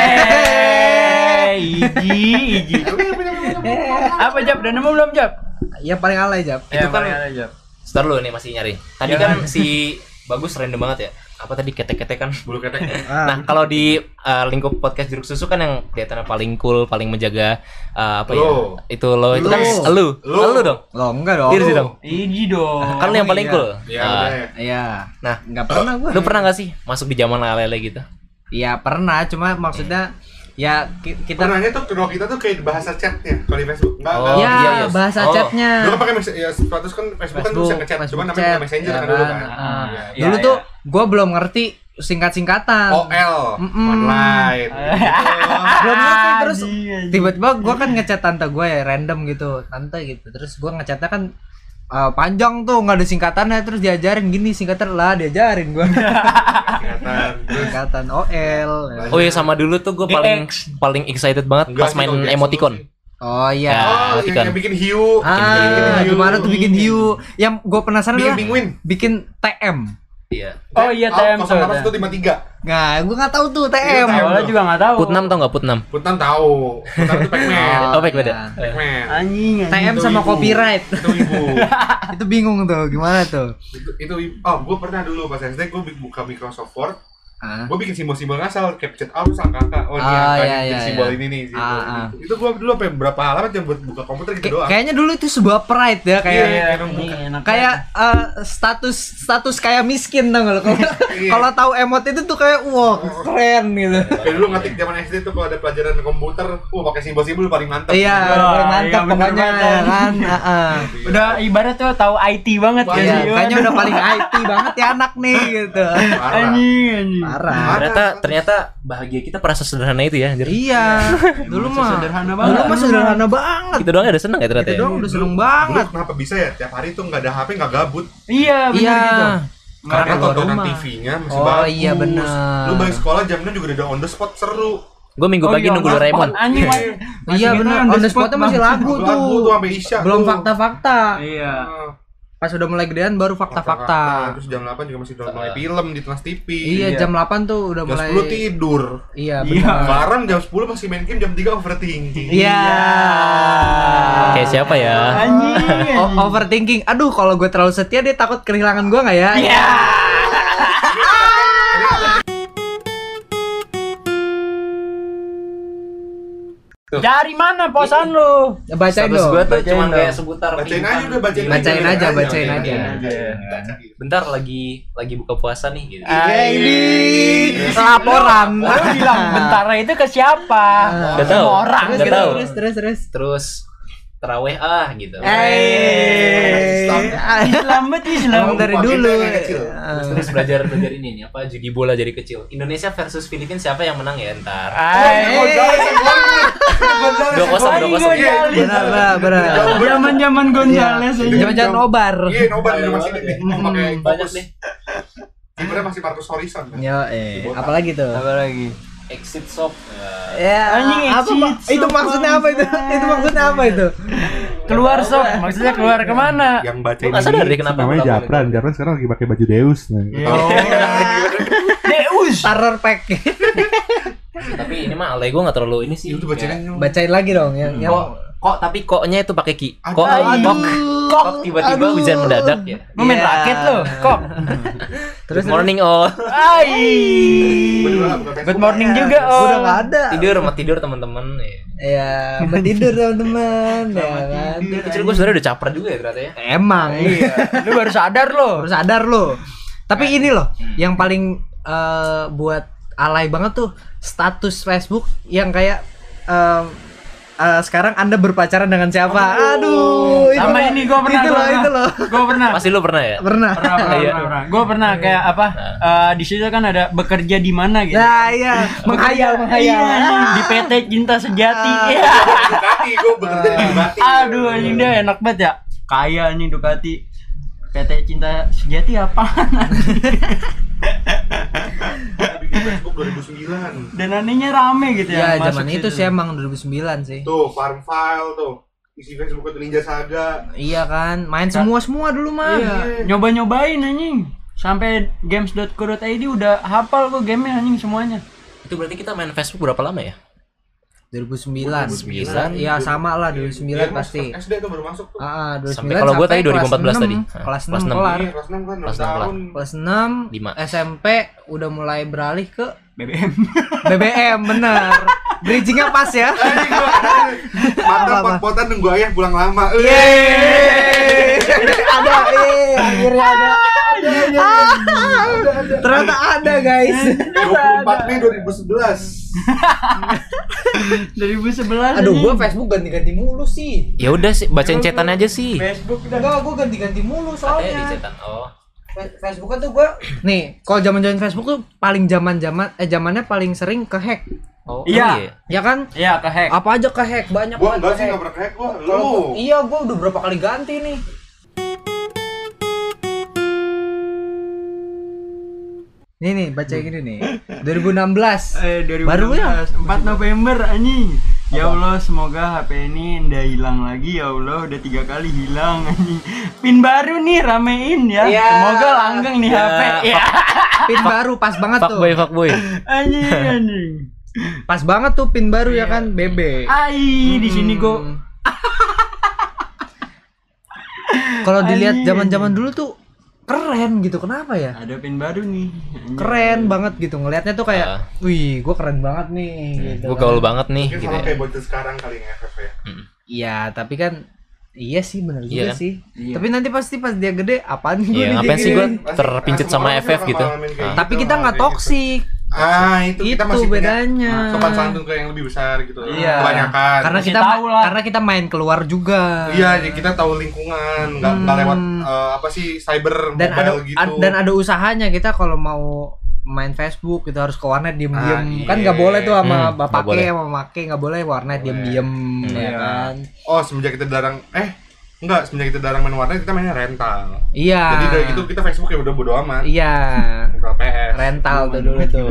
[SPEAKER 3] Eh, Iji, Iji. Apa Jap? Udah nemu belum Jap?
[SPEAKER 4] Ya paling alay Jap.
[SPEAKER 1] Itu kan-
[SPEAKER 3] ada Jap.
[SPEAKER 1] Setar lu nih masih nyari. Tadi
[SPEAKER 3] Iya.
[SPEAKER 1] kan si Bagus random banget ya. Apa tadi ketek-ketek kan?
[SPEAKER 2] Bulu ketek.
[SPEAKER 4] Ah.
[SPEAKER 1] Nah, kalau di uh, lingkup podcast Jeruk Susu kan yang kelihatannya paling cool, paling menjaga uh, apa ya?
[SPEAKER 2] Lo.
[SPEAKER 1] Itu lo itu kan
[SPEAKER 4] Lo.
[SPEAKER 1] lu.
[SPEAKER 2] Lo.
[SPEAKER 1] Lu dong.
[SPEAKER 4] Lo enggak dong.
[SPEAKER 1] Diri sih dong.
[SPEAKER 3] Iji dong.
[SPEAKER 1] Kan lu yang paling
[SPEAKER 4] iya.
[SPEAKER 1] cool.
[SPEAKER 2] Iya,
[SPEAKER 1] Ah,
[SPEAKER 2] udah ya.
[SPEAKER 4] Iya.
[SPEAKER 1] Nah,
[SPEAKER 4] Enggak pernah gua.
[SPEAKER 1] lu pernah gak sih masuk di zaman lele gitu?
[SPEAKER 4] Iya, pernah, cuma maksudnya ya ki- kita
[SPEAKER 2] Pernahnya tuh kalau kita tuh kayak bahasa chatnya kalau di Facebook. Enggak,
[SPEAKER 1] Oh,
[SPEAKER 2] enggak.
[SPEAKER 4] ya
[SPEAKER 1] iya, iya.
[SPEAKER 4] bahasa
[SPEAKER 1] Oh.
[SPEAKER 4] chatnya.
[SPEAKER 2] Dulu kan pakai mes- ya status kan Facebook, kan bisa ngechat, cuma namanya
[SPEAKER 4] chat,
[SPEAKER 2] bukan Messenger
[SPEAKER 4] ya
[SPEAKER 2] kan dulu kan.
[SPEAKER 4] Ah.
[SPEAKER 2] Iya.
[SPEAKER 3] Iya,
[SPEAKER 4] Dulu
[SPEAKER 3] iya.
[SPEAKER 4] tuh gua belum ngerti singkat-singkatan.
[SPEAKER 2] O L
[SPEAKER 4] Mm-mm.
[SPEAKER 2] online. Gitu.
[SPEAKER 4] Belum ngerti terus
[SPEAKER 3] Anjing, anjing.
[SPEAKER 4] tiba-tiba gua kan ngechat tante gua ya random gitu, tante gitu. Terus gua ngechatnya kan uh, panjang tuh nggak ada singkatannya, terus diajarin gini singkatan lah, diajarin gua
[SPEAKER 2] Kelihatan. Terus
[SPEAKER 4] singkatan O L.
[SPEAKER 1] Oh iya, sama dulu tuh gue paling paling excited banget
[SPEAKER 2] enggak
[SPEAKER 1] pas
[SPEAKER 2] sih
[SPEAKER 1] main
[SPEAKER 2] kalau Jackson
[SPEAKER 1] emoticon.
[SPEAKER 2] sih.
[SPEAKER 4] Oh iya.
[SPEAKER 1] Ya.
[SPEAKER 2] Oh, yang,
[SPEAKER 1] emoticon.
[SPEAKER 2] yang bikin hiu.
[SPEAKER 4] Ah,
[SPEAKER 2] hiu.
[SPEAKER 4] gimana tuh bikin hiu? Yang gue penasaran
[SPEAKER 2] Bikin
[SPEAKER 4] adalah
[SPEAKER 2] penguin.
[SPEAKER 4] bikin T M.
[SPEAKER 1] Iya.
[SPEAKER 3] Oh iya T M tuh.
[SPEAKER 2] nol delapan satu lima tiga.
[SPEAKER 4] Nah, gue nggak tahu tuh T M.
[SPEAKER 2] Iya,
[SPEAKER 3] Awalnya juga nggak tahu.
[SPEAKER 1] Put enam tau gak Put enam?
[SPEAKER 2] Putan tahu. Putan itu Pac-Man.
[SPEAKER 1] Oh, baik beda.
[SPEAKER 4] iya.
[SPEAKER 2] Pac-Man.
[SPEAKER 3] Anjing,
[SPEAKER 4] T
[SPEAKER 3] anjing.
[SPEAKER 4] M sama
[SPEAKER 2] Ibu.
[SPEAKER 4] copyright.
[SPEAKER 2] Itu ibu.
[SPEAKER 4] Itu bingung tuh, gimana tuh?
[SPEAKER 2] itu, itu ibu. Oh, gue pernah dulu pas S D gue buka Microsoft Word.
[SPEAKER 4] Ah.
[SPEAKER 2] Gue bikin simbol-simbol ngasal, capture out sama kakak. Oh, ini
[SPEAKER 4] Ah,
[SPEAKER 2] yang
[SPEAKER 4] iya,
[SPEAKER 2] tadi
[SPEAKER 4] iya,
[SPEAKER 2] simbol
[SPEAKER 4] iya.
[SPEAKER 2] ini nih, simbol
[SPEAKER 4] Ah,
[SPEAKER 2] ini.
[SPEAKER 4] ah.
[SPEAKER 2] Itu gue dulu sampai berapa halaman cuma buat buka komputer gitu
[SPEAKER 4] Kay-
[SPEAKER 2] doang.
[SPEAKER 4] kayaknya dulu itu sebuah pride ya, kayak
[SPEAKER 2] Iya,
[SPEAKER 3] Iya,
[SPEAKER 2] emang bukan.
[SPEAKER 3] enak
[SPEAKER 4] kayak eh, status status kayak miskin tau gak lo? Kalau
[SPEAKER 2] Iya.
[SPEAKER 4] kalau tahu emot itu tuh kayak wah keren gitu.
[SPEAKER 2] Kayak dulu ngetik zaman S D tuh kalau ada pelajaran komputer, wah pakai simbol-simbol paling mantap.
[SPEAKER 4] Iya,
[SPEAKER 3] Oh,
[SPEAKER 4] paling
[SPEAKER 3] iya,
[SPEAKER 4] mantap
[SPEAKER 3] bener
[SPEAKER 4] pokoknya
[SPEAKER 3] banget.
[SPEAKER 4] ya kan. Heeh.
[SPEAKER 3] Udah ibarat tuh tahu I T banget
[SPEAKER 2] Wah,
[SPEAKER 3] kan
[SPEAKER 4] Iya,
[SPEAKER 3] sih.
[SPEAKER 4] kayaknya udah paling I T banget ya anak nih gitu.
[SPEAKER 2] Parah.
[SPEAKER 3] Anjing, anjing.
[SPEAKER 4] Parah.
[SPEAKER 1] Ternyata ternyata bahagia kita pernah sesederhana itu ya. anjir.
[SPEAKER 4] Iya, dulu mah
[SPEAKER 3] Sederhana
[SPEAKER 4] Dulu
[SPEAKER 3] banget.
[SPEAKER 4] mah sederhana banget.
[SPEAKER 1] Kita doang udah seneng ya ternyata.
[SPEAKER 4] Itu
[SPEAKER 1] ya?
[SPEAKER 4] doang udah seneng
[SPEAKER 2] Dulu
[SPEAKER 4] banget.
[SPEAKER 2] kenapa bisa ya tiap hari tuh nggak ada H P nggak gabut?
[SPEAKER 3] Iya, bener
[SPEAKER 4] Iya.
[SPEAKER 3] gitu.
[SPEAKER 2] Karena
[SPEAKER 4] keluar
[SPEAKER 2] tontonan
[SPEAKER 4] rumah.
[SPEAKER 2] T V-nya masih
[SPEAKER 4] Oh,
[SPEAKER 2] bagus.
[SPEAKER 4] iya, bener.
[SPEAKER 2] Lu balik sekolah jamnya juga udah on the spot seru.
[SPEAKER 1] Gue minggu
[SPEAKER 3] Oh,
[SPEAKER 1] pagi
[SPEAKER 3] iya,
[SPEAKER 1] nunggu
[SPEAKER 3] Mas.
[SPEAKER 1] Doraemon.
[SPEAKER 3] Anjing, Mas.
[SPEAKER 4] Iya
[SPEAKER 3] Masih
[SPEAKER 4] benar,
[SPEAKER 3] kita
[SPEAKER 4] on the spotnya masih lagu tuh.
[SPEAKER 2] Lagu tuh sampai Isya.
[SPEAKER 4] Belum
[SPEAKER 2] tuh.
[SPEAKER 4] fakta-fakta.
[SPEAKER 3] Iya.
[SPEAKER 2] Ah,
[SPEAKER 4] Pas udah mulai gedean baru fakta-fakta.
[SPEAKER 2] Terus jam delapan juga masih udah mulai film di Trans T V.
[SPEAKER 4] Iya,
[SPEAKER 3] Iya.
[SPEAKER 4] jam delapan tuh udah
[SPEAKER 2] Jam
[SPEAKER 4] mulai.
[SPEAKER 2] sepuluh tidur.
[SPEAKER 4] Iya,
[SPEAKER 3] Iya.
[SPEAKER 4] benar.
[SPEAKER 2] Sekarang jam sepuluh masih main game, jam tiga overthinking.
[SPEAKER 4] Iya.
[SPEAKER 1] Kayak siapa ya?
[SPEAKER 3] Anjing.
[SPEAKER 4] O- overthinking. Aduh, kalau gue terlalu setia dia takut kehilangan gue nggak ya?
[SPEAKER 3] Iya. Dari mana posan lu?
[SPEAKER 4] Bacain
[SPEAKER 1] Status
[SPEAKER 4] dong.
[SPEAKER 1] gue tuh
[SPEAKER 3] Bacain
[SPEAKER 1] cuma
[SPEAKER 3] dong.
[SPEAKER 1] kayak seputar
[SPEAKER 2] Bacain
[SPEAKER 1] pingsan.
[SPEAKER 2] aja udah bacain,
[SPEAKER 4] Bacain aja, bacain aja.
[SPEAKER 2] Baca.
[SPEAKER 1] Bentar lagi lagi buka puasa nih gitu.
[SPEAKER 4] Eh, ini laporan.
[SPEAKER 3] Lu bilang bentara itu ke siapa?
[SPEAKER 1] Gak tahu.
[SPEAKER 3] Semua orang
[SPEAKER 4] Terus,
[SPEAKER 1] Gak
[SPEAKER 3] gitu.
[SPEAKER 1] tahu.
[SPEAKER 4] terus, terus, terus.
[SPEAKER 1] Terus teraweh ah gitu.
[SPEAKER 4] Eh,
[SPEAKER 3] Islam bet Islam.
[SPEAKER 4] Emang dari
[SPEAKER 2] Lupa,
[SPEAKER 4] dulu.
[SPEAKER 2] kita yang kecil.
[SPEAKER 1] Terus, terus belajar belajar ini nih apa judi bola dari kecil. Indonesia versus Filipina siapa yang menang ya ntar?
[SPEAKER 3] Ay,
[SPEAKER 1] Dua kosong, dua kosong.
[SPEAKER 4] Benar, benar, benar.
[SPEAKER 3] Zaman-zaman Gonzales aja.
[SPEAKER 4] Jangan-jangan nobar.
[SPEAKER 2] Iya, nobar di rumah sini nih. Mau pakai
[SPEAKER 1] Banyak
[SPEAKER 2] fokus.
[SPEAKER 1] deh.
[SPEAKER 2] Kipernya masih Marcus Horizon. kan?
[SPEAKER 4] Yo, eh, apalagi tuh?
[SPEAKER 3] Apa lagi?
[SPEAKER 1] Exit shop.
[SPEAKER 4] Ya,
[SPEAKER 3] Anjing,
[SPEAKER 4] apa,
[SPEAKER 3] exit
[SPEAKER 4] Pak? Itu
[SPEAKER 3] so
[SPEAKER 4] maksudnya apa itu?
[SPEAKER 3] bangsa.
[SPEAKER 4] Itu maksudnya apa itu?
[SPEAKER 3] Keluar sob, maksudnya keluar kemana?
[SPEAKER 2] Yang baca
[SPEAKER 1] Gue nggak sadar deh kenapa.
[SPEAKER 5] namanya
[SPEAKER 1] kenapa
[SPEAKER 5] Japran. Japran sekarang lagi pakai baju Deus. Nah.
[SPEAKER 2] Oh.
[SPEAKER 3] Deus.
[SPEAKER 4] Terror pack.
[SPEAKER 1] Tapi ini mah alay gue nggak terlalu ini sih.
[SPEAKER 2] Itu bacain aja.
[SPEAKER 4] Bacain lagi dong yang yang
[SPEAKER 1] Kok, kok tapi koknya itu pakai ki. Kok,
[SPEAKER 2] Aduh.
[SPEAKER 1] kok, kok tiba-tiba
[SPEAKER 4] Aduh.
[SPEAKER 1] hujan mendadak ya.
[SPEAKER 3] Lu main
[SPEAKER 4] Iya.
[SPEAKER 3] raket lu, kok.
[SPEAKER 1] Terus morning all.
[SPEAKER 3] Ai. Good morning juga, oh.
[SPEAKER 4] udah nggak ada.
[SPEAKER 1] Tidur sama tidur teman-teman. Ya.
[SPEAKER 4] Ya, sampai tidur teman-teman. Ya kan.
[SPEAKER 1] Dari kecil gue sebenarnya udah caper juga ya ternyata ya.
[SPEAKER 4] Emang.
[SPEAKER 3] Iya. Lu baru sadar lo.
[SPEAKER 4] Baru sadar lo. Tapi ini loh, yang paling eh, buat alay banget tuh status Facebook yang kayak em, eh, sekarang Anda berpacaran dengan siapa? Aduh, itu
[SPEAKER 3] Sama
[SPEAKER 4] loh,
[SPEAKER 3] ini gua pernah.
[SPEAKER 4] Itu
[SPEAKER 3] gua
[SPEAKER 4] loh,
[SPEAKER 3] pernah.
[SPEAKER 4] itu loh.
[SPEAKER 3] Gua pernah.
[SPEAKER 1] Pasti lu pernah ya?
[SPEAKER 4] Pernah.
[SPEAKER 3] Pernah, pernah,
[SPEAKER 1] Iya.
[SPEAKER 3] pernah, pernah. Gue pernah kayak apa? eh, di situ kan ada bekerja di mana gitu.
[SPEAKER 4] Nah, iya, menghayal, menghayal.
[SPEAKER 3] Iya, di P T Cinta Sejati.
[SPEAKER 4] Ah.
[SPEAKER 3] Iya.
[SPEAKER 2] Ducati, gue bekerja di Ducati.
[SPEAKER 3] Aduh, anjing dia enak banget ya. Kaya anjing Ducati. P T Cinta Sejati apaan?
[SPEAKER 2] Bikin Facebook dua ribu sembilan.
[SPEAKER 3] Dan anehnya rame gitu ya.
[SPEAKER 4] Ya,
[SPEAKER 3] masuk
[SPEAKER 4] zaman itu
[SPEAKER 3] situ.
[SPEAKER 4] sih emang dua ribu sembilan sih.
[SPEAKER 2] Tuh, farm file tuh. Isi Facebook itu Ninja Saga.
[SPEAKER 4] Iya kan, main semua-semua dulu mah.
[SPEAKER 3] Iya, nyoba-nyobain anjing. Sampai games dot co dot i d udah hafal kok gamenya anjing semuanya.
[SPEAKER 1] Itu berarti kita main Facebook berapa lama ya?
[SPEAKER 4] dua ribu sembilan.
[SPEAKER 2] dua ribu sembilan.
[SPEAKER 4] Iya, sama lah dua ribu sembilan
[SPEAKER 2] Iya,
[SPEAKER 4] pasti.
[SPEAKER 2] S D tuh baru masuk tuh.
[SPEAKER 4] Ah, dua ribu sembilan
[SPEAKER 1] Sampai kalau gua tadi dua ribu empat belas
[SPEAKER 4] kelas
[SPEAKER 1] tadi.
[SPEAKER 4] enam.
[SPEAKER 1] Ah,
[SPEAKER 4] Kelas
[SPEAKER 1] kelas
[SPEAKER 4] enam
[SPEAKER 1] enam.
[SPEAKER 4] kelar.
[SPEAKER 2] Iya, kelas enam kan enam
[SPEAKER 1] Kelas enam
[SPEAKER 2] tahun.
[SPEAKER 4] Kelas enam
[SPEAKER 1] Lima.
[SPEAKER 4] S M P udah mulai beralih ke
[SPEAKER 3] B B M.
[SPEAKER 4] B B M, bener. Bridgingnya pas ya.
[SPEAKER 2] Anjing gua mata
[SPEAKER 4] Apa-apa?
[SPEAKER 2] pot-potan nunggu ayah pulang lama.
[SPEAKER 4] Yeay. Ada, eh, akhirnya ada. Ternyata ada guys.
[SPEAKER 2] dua puluh empat Mei dua ribu sebelas.
[SPEAKER 3] dua ribu sebelas.
[SPEAKER 4] Aduh, gua
[SPEAKER 3] anjing.
[SPEAKER 4] Facebook ganti-ganti mulu sih.
[SPEAKER 1] Ya udah sih, bacain cetan aja sih.
[SPEAKER 3] Facebook udah.
[SPEAKER 4] Enggak, gua ganti-ganti mulu
[SPEAKER 1] Katanya di
[SPEAKER 4] soalnya.
[SPEAKER 1] cetan. Oh.
[SPEAKER 4] Fe- Facebook kan tuh gua nih, kalau zaman-zaman Facebook tuh paling zaman-zaman eh zamannya paling sering ke-hack.
[SPEAKER 1] Oh,
[SPEAKER 3] Iya.
[SPEAKER 4] Ya kan?
[SPEAKER 3] Iya, kehack.
[SPEAKER 4] Apa aja ke-hack, banyak
[SPEAKER 2] Gua
[SPEAKER 4] banget
[SPEAKER 2] enggak sih
[SPEAKER 4] ke-hack.
[SPEAKER 2] enggak pernah kayak gua.
[SPEAKER 4] Kalau
[SPEAKER 2] Lu.
[SPEAKER 4] gua- iya, gua udah berapa kali ganti nih. Nih nih, baca yang gini nih. dua ribu enam belas.
[SPEAKER 3] Eh, dua ribu enam belas.
[SPEAKER 4] Baru ya?
[SPEAKER 3] empat November anjing. Ya Allah, semoga H P ini ndak hilang lagi ya Allah, udah tiga kali hilang anjing. Pin baru nih ramein ya.
[SPEAKER 4] Iya.
[SPEAKER 3] Semoga langgeng nih
[SPEAKER 1] Ya,
[SPEAKER 3] H P. Ya.
[SPEAKER 4] Pin baru pas banget tuh.
[SPEAKER 1] Fuckboy, fuckboy.
[SPEAKER 3] Anjing anjing.
[SPEAKER 4] Pas banget tuh pin baru ya kan, B B.
[SPEAKER 3] Ai, di sini gua
[SPEAKER 4] Hmm. Kalau dilihat
[SPEAKER 3] Anjing.
[SPEAKER 4] zaman-zaman dulu tuh keren gitu. Kenapa ya?
[SPEAKER 3] ada pin baru nih. Anjing.
[SPEAKER 4] Keren banget gitu. Ngelihatnya tuh kayak,
[SPEAKER 1] Ah.
[SPEAKER 4] wih, gua keren banget nih gitu.
[SPEAKER 1] Gue gaul banget nih
[SPEAKER 2] Mungkin
[SPEAKER 1] gitu
[SPEAKER 2] sama
[SPEAKER 1] ya.
[SPEAKER 2] kayak bocil sekarang kali nge-F F ya.
[SPEAKER 4] Iya, tapi kan iya sih benar
[SPEAKER 1] Iya
[SPEAKER 4] juga
[SPEAKER 1] kan?
[SPEAKER 4] sih.
[SPEAKER 3] Iya.
[SPEAKER 4] Tapi nanti pasti pas dia gede apaan gue
[SPEAKER 1] Iya, ngapain sih gue terpincit sama F F gitu. Ah.
[SPEAKER 4] Tapi kita nggak toksik.
[SPEAKER 2] Ah, itu kita
[SPEAKER 4] Itu
[SPEAKER 2] masih punya
[SPEAKER 4] bedanya.
[SPEAKER 2] sopan santun ke yang lebih besar gitu.
[SPEAKER 3] Iya.
[SPEAKER 2] Kebanyakan.
[SPEAKER 4] Karena
[SPEAKER 3] Masih
[SPEAKER 4] kita
[SPEAKER 3] tahu lah.
[SPEAKER 4] karena kita main keluar juga.
[SPEAKER 2] Iya, jadi kita tahu lingkungan, nggak nggak lewat eh, apa sih cyber
[SPEAKER 4] Dan ada
[SPEAKER 2] mobile gitu.
[SPEAKER 4] ad- dan ada usahanya kita kalau mau main Facebook kita harus ke warnet diem-diem.
[SPEAKER 2] Ah, iya.
[SPEAKER 4] Kan nggak boleh tuh sama
[SPEAKER 1] Hmm,
[SPEAKER 4] bapak
[SPEAKER 1] nggak boleh.
[SPEAKER 4] sama make nggak boleh warnet
[SPEAKER 2] Boleh.
[SPEAKER 4] diem-diem ya
[SPEAKER 3] Iya.
[SPEAKER 4] kan.
[SPEAKER 2] Oh, semenjak kita dilarang eh enggak, semenjak kita dilarang main warnet kita mainnya rental.
[SPEAKER 4] Iya.
[SPEAKER 2] Jadi dari itu kita Facebook ya udah bodo amat.
[SPEAKER 4] Iya.
[SPEAKER 2] Rental P S.
[SPEAKER 4] Rental tuh dulu tuh.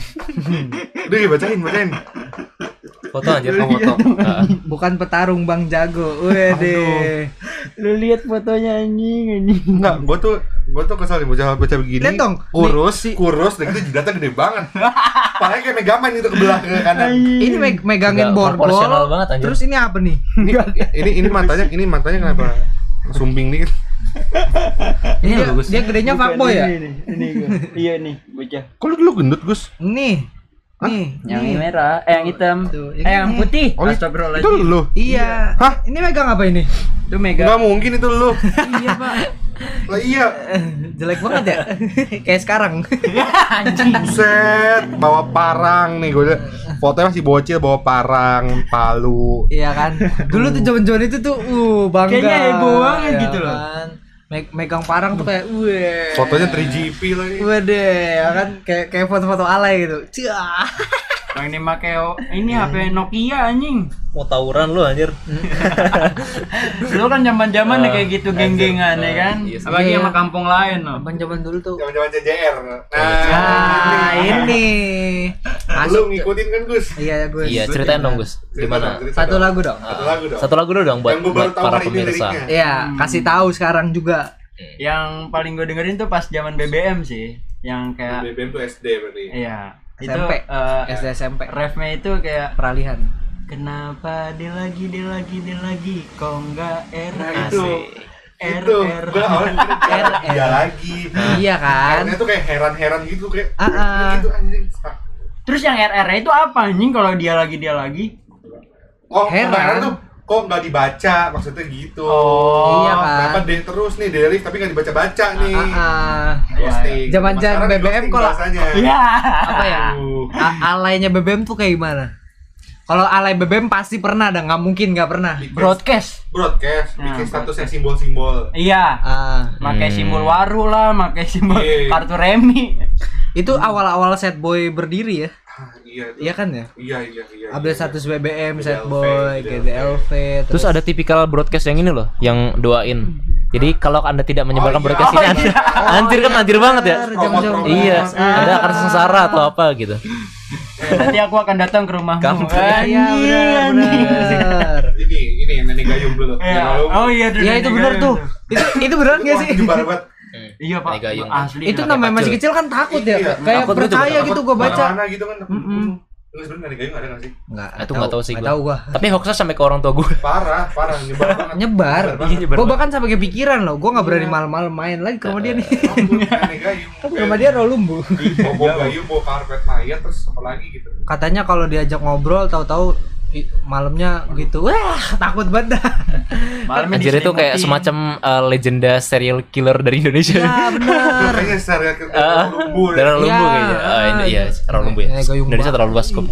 [SPEAKER 2] Udah ya, bacain, bacain.
[SPEAKER 1] Foto aja, foto. Ah.
[SPEAKER 4] Bukan petarung Bang Jago. Wede.
[SPEAKER 3] Lu lihat fotonya anjing anjing.
[SPEAKER 2] Enggak, gua tuh gua tuh kesel nih bocah bocah begini.
[SPEAKER 4] Lihat dong,
[SPEAKER 2] Kurus,
[SPEAKER 4] nih, si-
[SPEAKER 2] kurus, dan itu jidatnya gede banget. Palanya kayak Megaman itu ke belah ke kanan.
[SPEAKER 4] Ini meg- megangin
[SPEAKER 1] Nggak
[SPEAKER 4] borgol.
[SPEAKER 1] proporsional banget, anjir.
[SPEAKER 4] Terus ini apa nih?
[SPEAKER 2] Ini ini ini matanya, ini matanya kenapa sumbing nih?
[SPEAKER 1] Ini
[SPEAKER 4] dia,
[SPEAKER 1] bagus.
[SPEAKER 4] dia gedenya
[SPEAKER 3] Bukan,
[SPEAKER 4] fuckboy ya?
[SPEAKER 3] Ini, ini, ini gua. Iya nih, bocah.
[SPEAKER 2] Kok lu dulu gendut, Gus?
[SPEAKER 4] Nih. Nih,
[SPEAKER 3] Yang
[SPEAKER 4] nih.
[SPEAKER 3] merah, eh yang hitam,
[SPEAKER 4] Tuh,
[SPEAKER 3] eh
[SPEAKER 4] yang
[SPEAKER 3] yang
[SPEAKER 4] ini.
[SPEAKER 3] putih.
[SPEAKER 2] Oh, itu
[SPEAKER 3] Astagfirullahaladzim.
[SPEAKER 2] lu.
[SPEAKER 4] Iya.
[SPEAKER 2] Hah?
[SPEAKER 4] Ini megang apa ini?
[SPEAKER 3] Itu mega.
[SPEAKER 2] Enggak mungkin itu lu.
[SPEAKER 3] Iya, Pak.
[SPEAKER 2] Lah iya.
[SPEAKER 4] Jelek banget ya? Kayak sekarang.
[SPEAKER 3] Anjing.
[SPEAKER 2] Set, bawa parang nih gue. Fotonya masih bocil bawa parang, palu.
[SPEAKER 4] Iya kan? Dulu tuh zaman-zaman itu tuh uh bangga.
[SPEAKER 3] Kayaknya heboh banget
[SPEAKER 4] ya
[SPEAKER 3] gitu loh.
[SPEAKER 4] kan? Me- megang parang tuh kayak weh.
[SPEAKER 2] Fotonya tiga G P lagi.
[SPEAKER 4] Wede, ya kan kayak kayak foto-foto alay gitu. Cia.
[SPEAKER 3] Yang ini make ini H P Nokia anjing.
[SPEAKER 1] Mau tawuran lu anjir.
[SPEAKER 3] Dulu kan zaman-zaman
[SPEAKER 1] Ah,
[SPEAKER 3] kayak gitu geng-gengan ya kan.
[SPEAKER 1] iya sih.
[SPEAKER 3] Apalagi
[SPEAKER 4] Iya.
[SPEAKER 3] sama kampung lain loh.
[SPEAKER 4] Abang zaman dulu tuh.
[SPEAKER 2] Zaman-zaman C J R. Nah,
[SPEAKER 4] Ah, ini.
[SPEAKER 2] Lu ngikutin kan Gus?
[SPEAKER 4] Iya, gue.
[SPEAKER 1] Iya, ceritain dong Gus. Gimana?
[SPEAKER 2] Cerita
[SPEAKER 4] Satu
[SPEAKER 2] dong.
[SPEAKER 4] lagu dong.
[SPEAKER 2] Satu lagu dong.
[SPEAKER 1] Satu lagu dong buat,
[SPEAKER 2] Yang gua baru
[SPEAKER 1] buat
[SPEAKER 2] tahu
[SPEAKER 1] para
[SPEAKER 2] hari ini
[SPEAKER 1] pemirsa.
[SPEAKER 2] liriknya.
[SPEAKER 4] Iya, kasih tahu sekarang juga.
[SPEAKER 3] Yang paling gue dengerin tuh pas zaman B B M sih, yang kayak
[SPEAKER 2] B B M tuh S D berarti.
[SPEAKER 3] iya, itu
[SPEAKER 4] S M P.
[SPEAKER 3] eh,
[SPEAKER 4] S D S M P.
[SPEAKER 3] refnya itu kayak
[SPEAKER 4] Peralihan.
[SPEAKER 3] kenapa dia lagi dia lagi dia lagi kok enggak R
[SPEAKER 2] Nah,
[SPEAKER 3] R
[SPEAKER 2] itu.
[SPEAKER 3] R
[SPEAKER 2] Itu,
[SPEAKER 3] R
[SPEAKER 2] gua awalnya mikirnya
[SPEAKER 4] R,
[SPEAKER 2] dia
[SPEAKER 4] R.
[SPEAKER 2] lagi.
[SPEAKER 4] Iya kan?
[SPEAKER 2] Karena tuh kayak heran-heran gitu kayak
[SPEAKER 4] Ah, ah.
[SPEAKER 2] gitu anjing.
[SPEAKER 3] Terus yang R R itu apa anjing kalau dia lagi dia lagi?
[SPEAKER 2] Oh,
[SPEAKER 4] Heran.
[SPEAKER 2] heran tuh kok nggak dibaca maksudnya gitu.
[SPEAKER 3] Oh,
[SPEAKER 4] iya kan?
[SPEAKER 2] Kenapa deh terus nih Delif tapi nggak dibaca-baca nih.
[SPEAKER 4] Ah, ah.
[SPEAKER 2] Ghosting.
[SPEAKER 4] Zaman-zaman
[SPEAKER 2] Sekarang
[SPEAKER 4] B B M
[SPEAKER 2] ghosting
[SPEAKER 4] kalau-
[SPEAKER 2] bahasanya.
[SPEAKER 3] Iya.
[SPEAKER 4] Apa ya?
[SPEAKER 2] Aduh.
[SPEAKER 4] A- alaynya B B M tuh kayak gimana? Kalau alay B B M pasti pernah, dah nggak mungkin nggak pernah.
[SPEAKER 3] Broadcast.
[SPEAKER 2] broadcast
[SPEAKER 3] Nah,
[SPEAKER 2] bikin statusnya
[SPEAKER 3] broadcast.
[SPEAKER 2] simbol-simbol.
[SPEAKER 3] Iya.
[SPEAKER 4] Ah,
[SPEAKER 3] Pakai
[SPEAKER 1] Hmm.
[SPEAKER 3] simbol waru lah, pakai simbol
[SPEAKER 2] Iya.
[SPEAKER 3] kartu remi.
[SPEAKER 4] itu awal-awal set boy berdiri ya?
[SPEAKER 2] Ah, iya tuh.
[SPEAKER 4] Iya kan ya?
[SPEAKER 2] Iya iya iya.
[SPEAKER 4] Update
[SPEAKER 2] iya.
[SPEAKER 4] status B B M,
[SPEAKER 2] G D L V,
[SPEAKER 4] set boy, G D L V.
[SPEAKER 1] Terus ada tipikal broadcast yang ini loh, yang doain. Jadi kalau Anda tidak menyebarkan
[SPEAKER 2] Oh, iya.
[SPEAKER 1] broadcast ini,
[SPEAKER 3] Oh,
[SPEAKER 1] Anda,
[SPEAKER 3] iya.
[SPEAKER 1] anjir kan anjir banget ya.
[SPEAKER 4] Jangan-jangan.
[SPEAKER 1] Iya,
[SPEAKER 3] Ah.
[SPEAKER 1] Anda akan sengsara atau apa gitu.
[SPEAKER 3] Nanti aku akan datang ke rumahmu.
[SPEAKER 1] Kampret.
[SPEAKER 4] Iya benar benar.
[SPEAKER 2] Ini ini yang nenek gayung dulu.
[SPEAKER 3] Iya.
[SPEAKER 2] Yang lalu-
[SPEAKER 3] Oh iya,
[SPEAKER 4] Iya itu benar tuh. Itu itu benar nggak
[SPEAKER 2] Wah,
[SPEAKER 4] sih?
[SPEAKER 2] nyebar banget.
[SPEAKER 3] Iya Pak.
[SPEAKER 1] Nenek gayung.
[SPEAKER 3] Asli.
[SPEAKER 4] Itu
[SPEAKER 3] Pak.
[SPEAKER 4] namanya masih
[SPEAKER 1] kacau.
[SPEAKER 4] kecil kan takut ya.
[SPEAKER 2] Iya,
[SPEAKER 4] Kayak
[SPEAKER 1] takut gitu,
[SPEAKER 4] percaya
[SPEAKER 1] takut.
[SPEAKER 4] gitu gua baca.
[SPEAKER 2] Mana gitu kan.
[SPEAKER 4] Mm-mm.
[SPEAKER 2] Lu sebenarnya nenek gayung ada nggak sih?
[SPEAKER 4] Enggak.
[SPEAKER 1] Itu nggak tahu sih
[SPEAKER 4] Nggak
[SPEAKER 1] gua.
[SPEAKER 4] tahu gua.
[SPEAKER 1] Tapi hoaxnya sampai ke orang tua gue.
[SPEAKER 2] Parah, parah nyebar banget.
[SPEAKER 4] Nyebar.
[SPEAKER 2] banget.
[SPEAKER 1] Iya, nyebar
[SPEAKER 4] Gua
[SPEAKER 1] banget.
[SPEAKER 4] bahkan sampai kepikiran loh. Gua nggak berani malam-malam main lagi ke rumah dia nih.
[SPEAKER 2] Ampun, nenek gayung.
[SPEAKER 4] Kan ke rumah dia Rolumbu.
[SPEAKER 2] Bawa bawa gayung, bawa karpet mayat terus apa lagi gitu.
[SPEAKER 4] Katanya kalau diajak ngobrol tahu-tahu i- malamnya gitu. Wah, takut banget dah.
[SPEAKER 3] Malamnya
[SPEAKER 1] Anjir itu kayak
[SPEAKER 3] diselimutin.
[SPEAKER 1] semacam uh, legenda serial killer dari Indonesia.
[SPEAKER 4] Ya benar.
[SPEAKER 2] Kayaknya secara ke
[SPEAKER 1] Ah,
[SPEAKER 2] lumbu.
[SPEAKER 1] Darah lumbu
[SPEAKER 4] Iya.
[SPEAKER 1] kayaknya. Ah, ini iya, terlalu lumbu ya.
[SPEAKER 4] Nenek gayung
[SPEAKER 1] Indonesia
[SPEAKER 4] banget.
[SPEAKER 1] terlalu luas kok.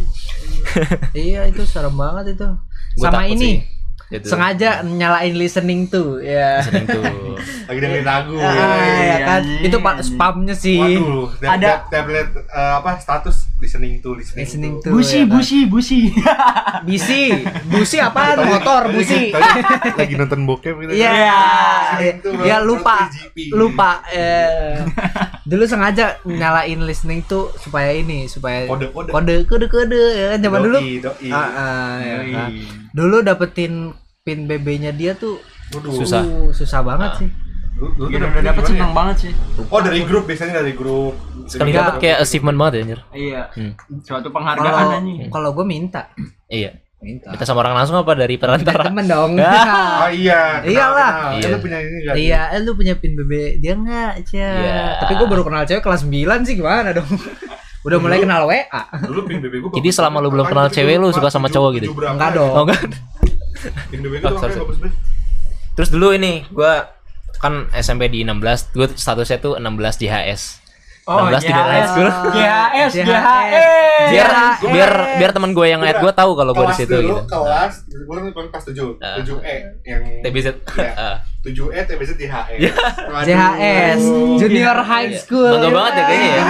[SPEAKER 4] Iya itu serem banget itu.
[SPEAKER 1] Gua
[SPEAKER 4] Sama
[SPEAKER 1] takut
[SPEAKER 4] ini
[SPEAKER 1] sih. Gitu.
[SPEAKER 4] sengaja nyalain listening tuh ya.
[SPEAKER 1] Listening tuh.
[SPEAKER 2] Lagi dengerin lagu.
[SPEAKER 4] Ah,
[SPEAKER 2] ya.
[SPEAKER 4] ya kan
[SPEAKER 3] anjing,
[SPEAKER 4] itu pak
[SPEAKER 3] anjing.
[SPEAKER 4] spamnya sih.
[SPEAKER 2] Waduh,
[SPEAKER 3] Ada-
[SPEAKER 2] ada tablet eh, apa status listening to listening,
[SPEAKER 4] Listening
[SPEAKER 2] to.
[SPEAKER 4] to.
[SPEAKER 3] Busi,
[SPEAKER 4] ya kan?
[SPEAKER 3] busi, busi.
[SPEAKER 4] Bisi, busi apaan?
[SPEAKER 2] Tadi-
[SPEAKER 4] Motor,
[SPEAKER 2] tadi-
[SPEAKER 4] busi.
[SPEAKER 2] tadi lagi nonton bokep gitu.
[SPEAKER 4] Iya,
[SPEAKER 2] Listening to,
[SPEAKER 4] ya
[SPEAKER 2] terus
[SPEAKER 4] lupa,
[SPEAKER 2] P G P.
[SPEAKER 4] lupa. Eh. Dulu sengaja nyalain listening tuh supaya ini, supaya
[SPEAKER 2] Kode-kode.
[SPEAKER 4] kode, kode, kode ya kan zaman dulu.
[SPEAKER 2] Doi, doi.
[SPEAKER 4] Ah, ah, ya
[SPEAKER 3] Yoi.
[SPEAKER 4] kan. Dulu dapetin pin B B-nya dia tuh
[SPEAKER 2] Waduh.
[SPEAKER 1] Susah.
[SPEAKER 4] uh, susah banget
[SPEAKER 1] Ah.
[SPEAKER 4] sih.
[SPEAKER 2] Lu- lu
[SPEAKER 3] Iya,
[SPEAKER 2] tuh
[SPEAKER 3] udah dapet
[SPEAKER 2] gimana
[SPEAKER 3] seneng
[SPEAKER 2] ya?
[SPEAKER 3] banget sih.
[SPEAKER 2] Oh, dari grup biasanya dari grup.
[SPEAKER 1] Sekali
[SPEAKER 4] Enggak.
[SPEAKER 1] dapat kayak achievement banget ya anjir.
[SPEAKER 3] Iya.
[SPEAKER 1] Hmm.
[SPEAKER 3] Suatu
[SPEAKER 4] Kalau
[SPEAKER 3] penghargaan anjing.
[SPEAKER 4] kalau gue minta,
[SPEAKER 1] Iya.
[SPEAKER 4] minta.
[SPEAKER 1] Kita sama orang langsung apa dari perantara?
[SPEAKER 4] Temen dong.
[SPEAKER 2] Oh iya. kenal,
[SPEAKER 4] Iyalah.
[SPEAKER 2] kenal.
[SPEAKER 1] Iya.
[SPEAKER 2] Lu punya ini enggak?
[SPEAKER 4] Iya, eh, lu punya pin B B, dia enggak, Cia.
[SPEAKER 1] Iya.
[SPEAKER 4] Tapi gue baru kenal cewek kelas sembilan sih gimana dong? Udah mulai
[SPEAKER 2] Dulu-
[SPEAKER 4] kenal W A.
[SPEAKER 2] Dulu pin B B gua.
[SPEAKER 1] Jadi selama lu belum kenal cewek, lu suka sama cowok gitu?
[SPEAKER 4] Enggak dong.
[SPEAKER 1] Oh kan?
[SPEAKER 2] Pin B B
[SPEAKER 1] Oh,
[SPEAKER 2] gua
[SPEAKER 1] sorry,
[SPEAKER 2] makanya
[SPEAKER 1] sorry.
[SPEAKER 2] bagus banget.
[SPEAKER 1] Terus dulu ini gua kan S M P di enam belas, gua statusnya tuh enam belas J H S. enam belas di dalam high school.
[SPEAKER 3] G H S, G H S.
[SPEAKER 1] Biar
[SPEAKER 4] Iya.
[SPEAKER 1] biar biar teman gue yang ngeliat gue tahu kalau gue di
[SPEAKER 2] Kelas
[SPEAKER 1] situ
[SPEAKER 2] dulu,
[SPEAKER 1] gitu.
[SPEAKER 2] Kelas, gua kan kelas tujuh,
[SPEAKER 1] Ah.
[SPEAKER 2] tujuh E yang
[SPEAKER 1] T B Z.
[SPEAKER 2] Iya.
[SPEAKER 1] Ah.
[SPEAKER 2] tujuh E T B Z J H S.
[SPEAKER 4] J H S, Junior High
[SPEAKER 1] Iya.
[SPEAKER 4] School.
[SPEAKER 1] Bangga banget ya kayaknya ya.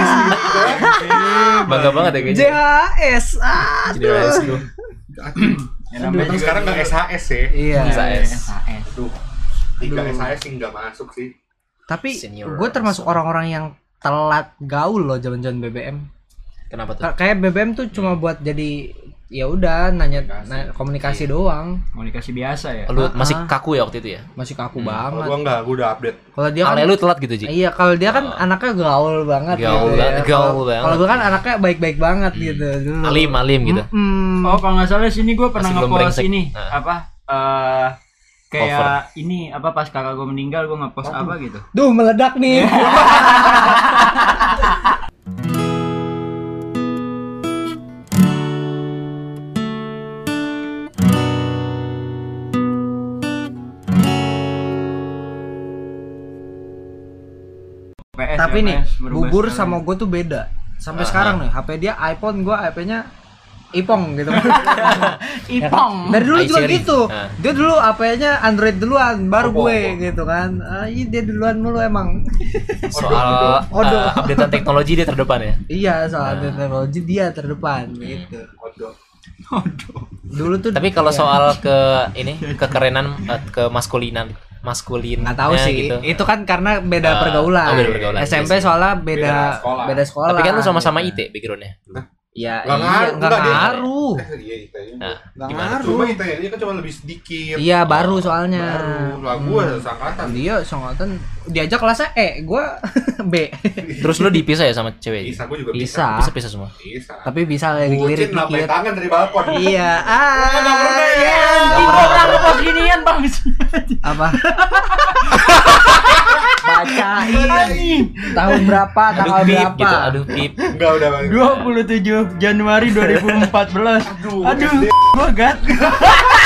[SPEAKER 1] Bangga banget ya
[SPEAKER 4] J
[SPEAKER 1] kayaknya.
[SPEAKER 4] H S. Ah.
[SPEAKER 1] Jadi high school.
[SPEAKER 3] Ya, namanya
[SPEAKER 2] Untung
[SPEAKER 3] juga
[SPEAKER 2] sekarang nggak
[SPEAKER 3] dulu.
[SPEAKER 2] S H S ya.
[SPEAKER 4] Iya.
[SPEAKER 1] S H S.
[SPEAKER 3] S H S.
[SPEAKER 2] Aduh, tiga S H S sih nggak masuk sih.
[SPEAKER 4] Tapi
[SPEAKER 1] Senior.
[SPEAKER 4] gue termasuk orang-orang yang telat gaul loh zaman-zaman B B M.
[SPEAKER 1] Kenapa tuh?
[SPEAKER 4] Ka- Kayak B B M tuh cuma buat jadi ya udah nanya
[SPEAKER 2] Komunikasi.
[SPEAKER 4] na- komunikasi doang.
[SPEAKER 3] Komunikasi biasa ya.
[SPEAKER 1] Lu
[SPEAKER 4] Ah,
[SPEAKER 1] masih
[SPEAKER 4] ah.
[SPEAKER 1] kaku ya waktu itu ya?
[SPEAKER 4] Masih kaku
[SPEAKER 1] Hmm.
[SPEAKER 2] Kalau
[SPEAKER 4] banget.
[SPEAKER 2] gua nggak, gua udah update.
[SPEAKER 4] Kalau dia kan
[SPEAKER 1] Ale lu telat gitu, Ji.
[SPEAKER 4] iya, kalau dia kan
[SPEAKER 1] Oh.
[SPEAKER 4] anaknya gaul banget
[SPEAKER 1] Gaul
[SPEAKER 4] gitu
[SPEAKER 1] banget,
[SPEAKER 4] ya.
[SPEAKER 1] gaul
[SPEAKER 4] Kalau-
[SPEAKER 1] banget.
[SPEAKER 4] Kalau gue kan anaknya baik-baik banget gitu dulu.
[SPEAKER 1] Alim, alim gitu.
[SPEAKER 4] Mm-mm.
[SPEAKER 3] Oh, kalau nggak salah sini gue pernah
[SPEAKER 1] Masih belum
[SPEAKER 3] ngepost
[SPEAKER 1] brengsek.
[SPEAKER 3] ini
[SPEAKER 1] Nah.
[SPEAKER 3] apa eh kayak ini apa pas kakak gue meninggal gue ngepost apa gitu.
[SPEAKER 4] Duh, meledak nih.
[SPEAKER 3] P S,
[SPEAKER 4] Tapi
[SPEAKER 3] ya,
[SPEAKER 4] nih,
[SPEAKER 3] P S, berubah
[SPEAKER 4] bubur
[SPEAKER 3] sekali.
[SPEAKER 4] sama gue tuh beda. Sampai
[SPEAKER 1] Ah.
[SPEAKER 4] sekarang nih, H P dia iPhone, gue H P-nya Ipong gitu.
[SPEAKER 3] Ipong.
[SPEAKER 4] Dari dulu juga
[SPEAKER 1] iSeries.
[SPEAKER 4] gitu.
[SPEAKER 1] Ah.
[SPEAKER 4] Dia dulu H P-nya Android duluan, baru
[SPEAKER 2] Oppo,
[SPEAKER 4] gue
[SPEAKER 2] Oppo.
[SPEAKER 4] gitu kan. Ah, iya dia duluan mulu emang.
[SPEAKER 1] Soal
[SPEAKER 4] Odo.
[SPEAKER 1] uh, updatean teknologi dia terdepan ya.
[SPEAKER 4] Iya, soal
[SPEAKER 1] Ah.
[SPEAKER 4] teknologi dia terdepan gitu.
[SPEAKER 2] Waduh.
[SPEAKER 4] Dulu tuh
[SPEAKER 1] Tapi kalau
[SPEAKER 4] iya.
[SPEAKER 1] soal ke ini kekerenan eh, ke maskulinan maskulin
[SPEAKER 4] nggak tahu sih.
[SPEAKER 1] gitu.
[SPEAKER 4] Itu kan karena beda
[SPEAKER 1] Ah,
[SPEAKER 4] pergaulan.
[SPEAKER 1] oh, beda pergaulan,
[SPEAKER 4] S M P
[SPEAKER 1] iya sih.
[SPEAKER 4] soalnya beda
[SPEAKER 2] Beda sekolah.
[SPEAKER 4] beda sekolah.
[SPEAKER 1] Tapi kan lu sama-sama I
[SPEAKER 4] gitu.
[SPEAKER 1] T backgroundnya.
[SPEAKER 4] Ya,
[SPEAKER 2] Nggak
[SPEAKER 4] iya,
[SPEAKER 2] ngaruh,
[SPEAKER 4] nggak
[SPEAKER 2] nggak, dia-
[SPEAKER 4] ngaruh.
[SPEAKER 2] Eh, iya, I T I.
[SPEAKER 1] Nah,
[SPEAKER 4] Nggak
[SPEAKER 1] gimana
[SPEAKER 4] ngaruh.
[SPEAKER 2] Cuma I T I-nya kan cuma lebih sedikit.
[SPEAKER 4] Iya, baru soalnya.
[SPEAKER 2] Baru. Lah gua seangkatan.
[SPEAKER 4] Dia sangkatan diajak kelasnya E, gua B.
[SPEAKER 1] Terus lu dipisah ya sama cewek?
[SPEAKER 2] Bisa, gua juga bisa.
[SPEAKER 4] Bisa.
[SPEAKER 1] Bisa pisah semua.
[SPEAKER 2] Bisa.
[SPEAKER 4] Tapi bisa lagi
[SPEAKER 2] Bucin
[SPEAKER 4] lirik
[SPEAKER 2] lampai
[SPEAKER 4] dikit.
[SPEAKER 2] tangan dari balkon.
[SPEAKER 4] Iya. Ah,
[SPEAKER 2] Nggak pernah ya.
[SPEAKER 4] iya.
[SPEAKER 3] Anjing gua pernah pas ginian bang.
[SPEAKER 4] Apa? Bacain.
[SPEAKER 3] Anjing.
[SPEAKER 4] Tahun berapa, tanggal
[SPEAKER 1] Aduh pip
[SPEAKER 4] berapa?
[SPEAKER 1] gitu, aduh pip.
[SPEAKER 2] Enggak udah Bang.
[SPEAKER 3] dua puluh tujuh Januari dua ribu empat belas.
[SPEAKER 2] Aduh,
[SPEAKER 3] Aduh,
[SPEAKER 2] gede.
[SPEAKER 3] gua gat.